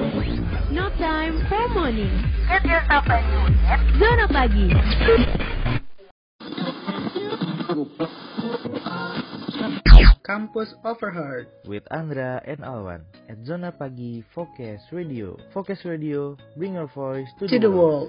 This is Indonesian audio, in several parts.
No time for morning. Get yourself a new net. Zona Pagi. Campus Overheard with Andra and Alwan at Zona Pagi Focus Radio. Focus Radio, bring your voice to the world.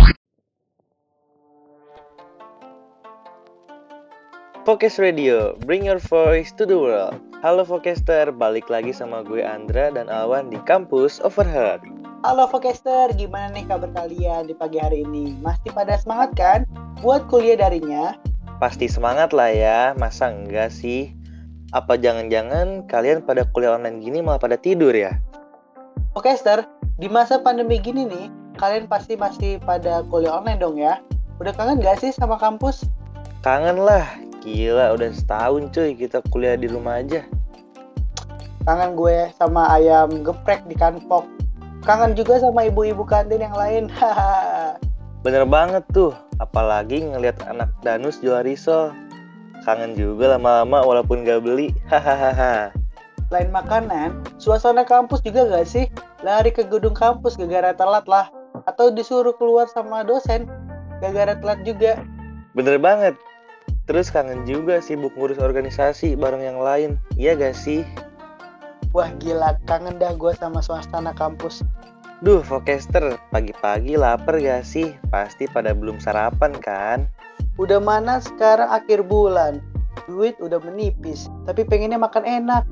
Focus Radio, bring your voice to the world. Halo Focaster, balik lagi sama gue Andra dan Alwan di Campus Overheard. Halo Focaster, gimana nih kabar kalian di pagi hari ini? Masih pada semangat kan buat kuliah darinya? Pasti semangat lah ya, masa enggak sih? Apa jangan-jangan kalian pada kuliah online gini malah pada tidur ya? Focaster, di masa pandemi gini nih, kalian pasti masih pada kuliah online dong ya? Udah kangen gak sih sama kampus? Kangen lah, gila udah setahun cuy kita kuliah di rumah aja. Kangen gue sama ayam geprek di kanpok. Kangen juga sama ibu-ibu kantin yang lain. Bener banget tuh, apalagi ngelihat anak danus jual risol. Kangen juga lama-lama walaupun gak beli. Hahaha. Selain makanan, suasana kampus juga gak sih? Lari ke gedung kampus gara-gara telat lah. Atau disuruh keluar sama dosen gara-gara telat juga. Bener banget. Terus kangen juga sibuk ngurus organisasi bareng yang lain. Iya gak sih? Wah gila, kangen dah gue sama suasana kampus. Duh, Focaster, pagi-pagi lapar gak sih? Pasti pada belum sarapan kan? Udah mana sekarang akhir bulan, duit udah menipis, tapi pengennya makan enak.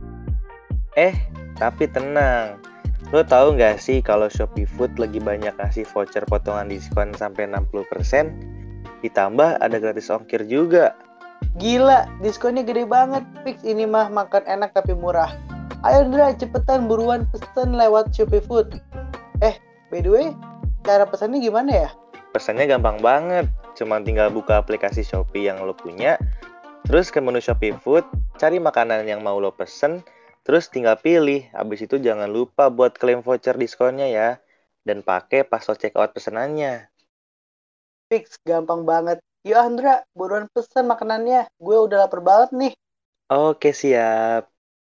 Tapi tenang. Lo tahu gak sih kalau Shopee Food lagi banyak ngasih voucher potongan diskon sampai 60%? Ditambah ada gratis ongkir juga. Gila, diskonnya gede banget. Fix ini mah makan enak tapi murah. Ayo Ndra, cepetan buruan pesen lewat Shopee Food. By the way, cara pesannya gimana ya? Pesannya gampang banget. Cuma tinggal buka aplikasi Shopee yang lo punya, terus ke menu Shopee Food, cari makanan yang mau lo pesen, terus tinggal pilih. Habis itu jangan lupa buat klaim voucher diskonnya ya. Dan pakai password checkout pesanannya. Fix, gampang banget. Yuk Andra, buruan pesen makanannya. Gue udah lapar banget nih. Oke, siap.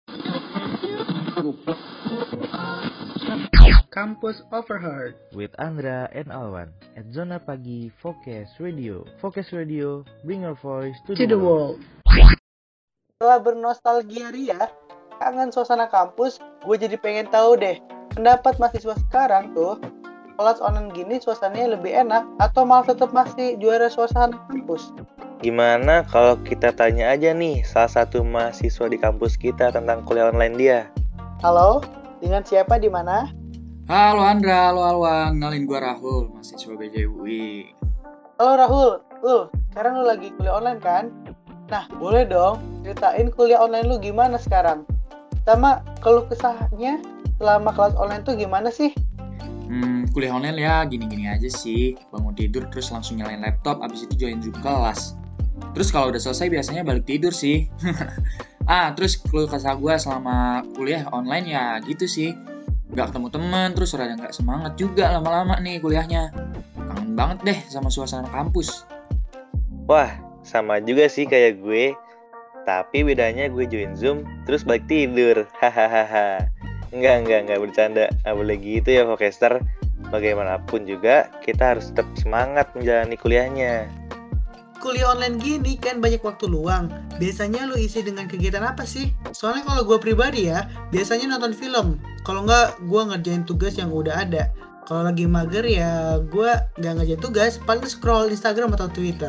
Campus Overheard With Andra and Alwan at Zona Pagi Focus Radio. Focus Radio, bring your voice to the world. Setelah bernostalgia ria, kangen suasana kampus, gue jadi pengen tahu deh, pendapat mahasiswa sekarang tuh, kelas online gini suasananya lebih enak atau malah tetap masih juara suasana kampus? Gimana kalau kita tanya aja nih salah satu mahasiswa di kampus kita tentang kuliah online dia? Halo, dengan siapa di mana? Halo Andra, halo Alwan, kenalin gue Rahul, mahasiswa BJUI. Halo Rahul, sekarang lu lagi kuliah online kan? Nah, boleh dong ceritain kuliah online lu gimana sekarang? Sama keluh kesahnya selama kelas online tuh gimana sih? Kuliah online ya gini-gini aja sih. Bangun tidur terus langsung nyalain laptop, abis itu join Zoom kelas. Terus kalau udah selesai biasanya balik tidur sih. Terus keluh kesah gue selama kuliah online ya gitu sih. Gak ketemu teman, terus rada gak semangat juga lama-lama nih kuliahnya. Kangen banget deh sama suasana kampus. Wah, sama juga sih kayak gue. Tapi bedanya gue join Zoom, terus balik tidur. Hahaha. Enggak bercanda. Nggak boleh gitu ya, Focaster. Bagaimanapun juga, kita harus tetap semangat menjalani kuliahnya. Kuliah online gini kan banyak waktu luang. Biasanya lu isi dengan kegiatan apa sih? Soalnya kalau gue pribadi ya, biasanya nonton film. Kalau nggak, gue ngerjain tugas yang udah ada. Kalau lagi mager ya, gue nggak ngerjain tugas, paling scroll Instagram atau Twitter.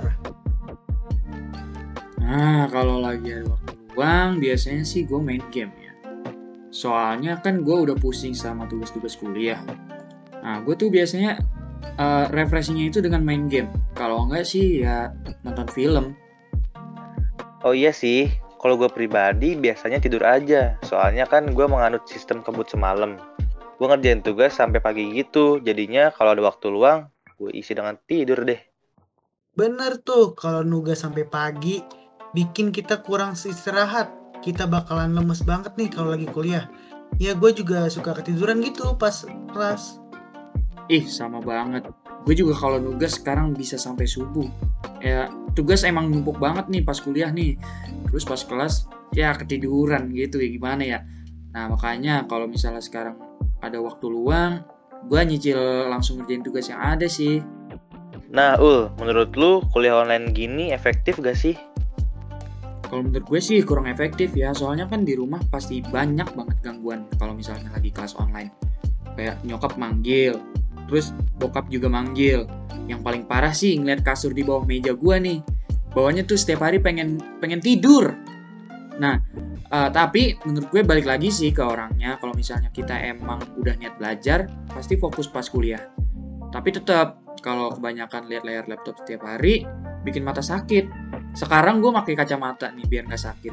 Kalau lagi ada waktu luang, biasanya sih gue main game ya. Soalnya kan gue udah pusing sama tugas-tugas kuliah. Gue tuh biasanya refreshingnya itu dengan main game. Kalau enggak sih ya nonton film. Oh iya sih, kalau gue pribadi biasanya tidur aja. Soalnya kan gue menganut sistem kebut semalam. Gue ngerjain tugas sampai pagi gitu. Jadinya kalau ada waktu luang, gue isi dengan tidur deh. Bener tuh, kalau nugas sampai pagi, bikin kita kurang istirahat. Kita bakalan lemes banget nih kalau lagi kuliah. Ya gue juga suka ketiduran gitu pas kelas. Sama banget. Gue juga kalau nugas sekarang bisa sampai subuh. Ya tugas emang numpuk banget nih pas kuliah nih. Terus pas kelas ya ketiduran gitu ya gimana ya. Nah makanya kalau misalnya sekarang ada waktu luang, gue nyicil langsung ngerjain tugas yang ada sih. Nah, menurut lu kuliah online gini efektif gak sih? Kalau menurut gue sih kurang efektif ya, soalnya kan di rumah pasti banyak banget gangguan kalau misalnya lagi kelas online. Kayak nyokap manggil, terus bokap juga manggil. Yang paling parah sih ngeliat kasur di bawah meja gue nih. Bawahnya tuh setiap hari pengen tidur. Nah, tapi menurut gue balik lagi sih ke orangnya. Kalau misalnya kita emang udah niat belajar, pasti fokus pas kuliah. Tapi tetap kalau kebanyakan lihat layar laptop setiap hari, bikin mata sakit. Sekarang gue pakai kacamata nih biar nggak sakit.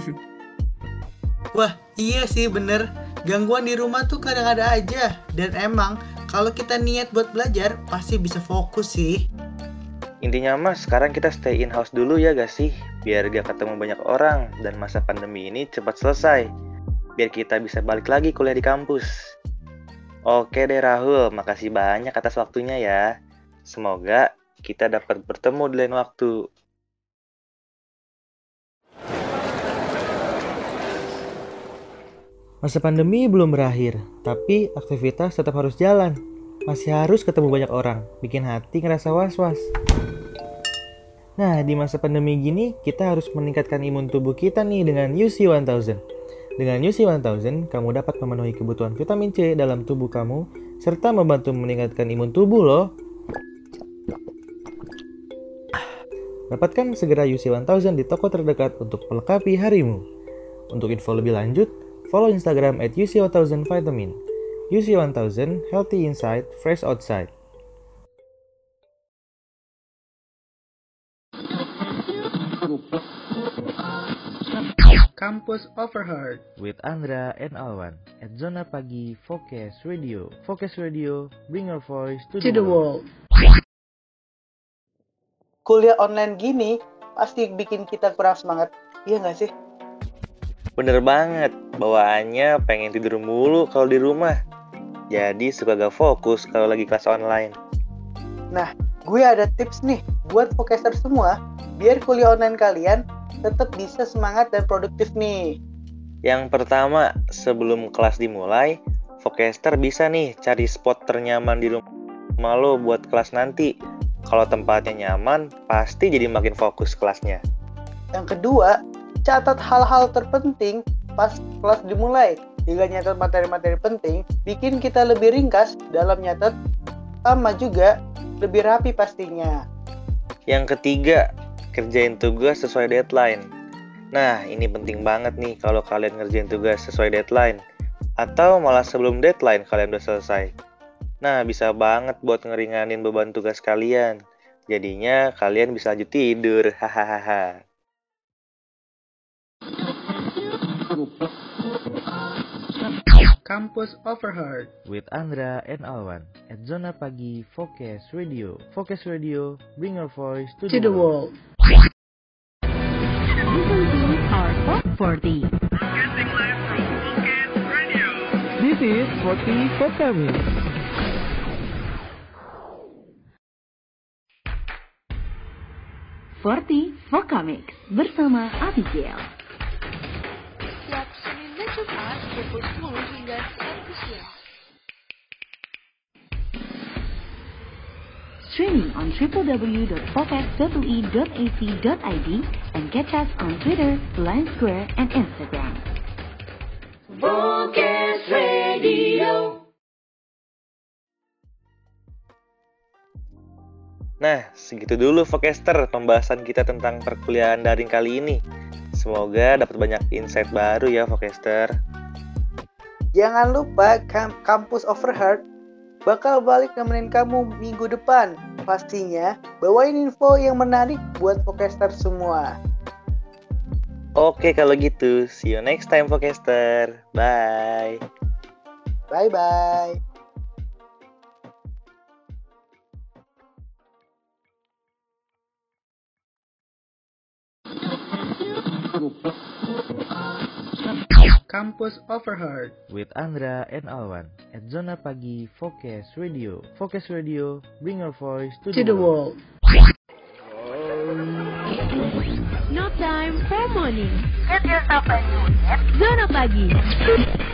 Wah, iya sih bener. Gangguan di rumah tuh kadang ada aja. Dan emang kalau kita niat buat belajar, pasti bisa fokus sih. Intinya mas, sekarang kita stay in house dulu ya gak sih? Biar gak ketemu banyak orang dan masa pandemi ini cepat selesai. Biar kita bisa balik lagi kuliah di kampus. Oke deh Rahul, makasih banyak atas waktunya ya. Semoga kita dapat bertemu di lain waktu. Masa pandemi belum berakhir, tapi aktivitas tetap harus jalan. Masih harus ketemu banyak orang, bikin hati ngerasa was-was. Nah, di masa pandemi gini, kita harus meningkatkan imun tubuh kita nih dengan UC 1000. Dengan UC 1000, kamu dapat memenuhi kebutuhan vitamin C dalam tubuh kamu, serta membantu meningkatkan imun tubuh loh. Dapatkan segera UC 1000 di toko terdekat untuk melengkapi harimu. Untuk info lebih lanjut, follow Instagram @UC1000vitamin. UC 1000, healthy inside, fresh outside. Campus Overheard With Andra and Alwan at Zona Pagi Focus Radio. Focus Radio, bring your voice to the world. Kuliah online gini pasti bikin kita kurang semangat, iya nggak sih? Bener banget, bawaannya pengen tidur mulu kalau di rumah. Jadi suka gak fokus kalau lagi kelas online. Nah, gue ada tips nih buat fokuser semua, biar kuliah online kalian tetap bisa semangat dan produktif nih. Yang pertama, sebelum kelas dimulai, Focaster bisa nih cari spot ternyaman di rumah lo buat kelas nanti. Kalau tempatnya nyaman, pasti jadi makin fokus kelasnya. Yang kedua, catat hal-hal terpenting pas kelas dimulai. Jika nyatat materi-materi penting, bikin kita lebih ringkas dalam nyatet, sama juga lebih rapi pastinya. Yang ketiga, kerjain tugas sesuai deadline. Nah, ini penting banget nih kalau kalian ngerjain tugas sesuai deadline. Atau malah sebelum deadline kalian udah selesai. Nah, bisa banget buat ngeringanin beban tugas kalian. Jadinya kalian bisa lanjut tidur. Hahaha. Campus Overheard With Andra and Alwan at Zona Pagi Focus Radio. Focus Radio, bring your voice to the world. Listen to our Top 40. This is 40 Focus. 40 Vocamix bersama Abigail. Setiap Senin dan Jumat pukul 10 hingga 1 siang. Streaming on www.focus.ui.ac.id and catch us on Twitter, Line Square, and Instagram. Focus Radio. Nah, segitu dulu Focaster pembahasan kita tentang perkuliahan daring kali ini. Semoga dapat banyak insight baru ya Focaster. Jangan lupa Campus Overheard bakal balik nemenin kamu minggu depan. Pastinya bawain info yang menarik buat Focaster semua. Oke kalau gitu, see you next time Focaster. Bye. Bye-bye. Campus Overheard With Andra and Alwan at Zona Pagi Focus Radio. Focus Radio, bring your voice to the world. No time for morning. Get yourself a new unit. Zona Pagi.